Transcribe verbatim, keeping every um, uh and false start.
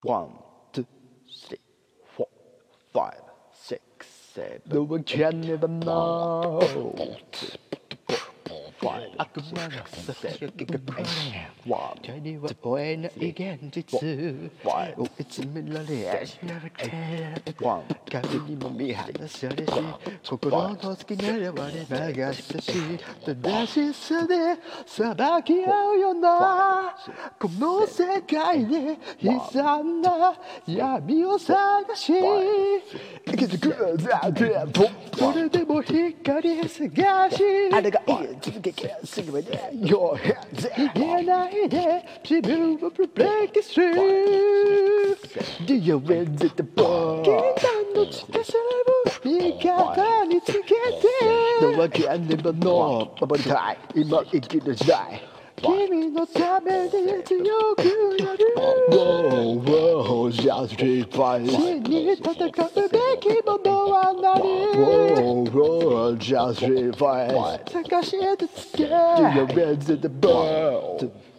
One, two, three, four, five, six, seven. No one can ever know. Five, 悪魔のささやきがこれ one, 手には追えない現実追い詰められしなくて one, 影にも見放されし心の好きなら我流したし正しさで裁き合うようなこの世界で悲惨な闇を探し生きてくるだけそれでも光探しあれが言い続けすぐまで Your hands 言えないで自分を break it through Do you win the ball 禁断の力を味方につけて No one can never know 守りたい今生きる時代君のために強くなる Whoa, whoa, just keep fighting. 真に戦うべきものは何 Whoa, whoa, just keep fighting. 探し当てつけ Do you win the ball?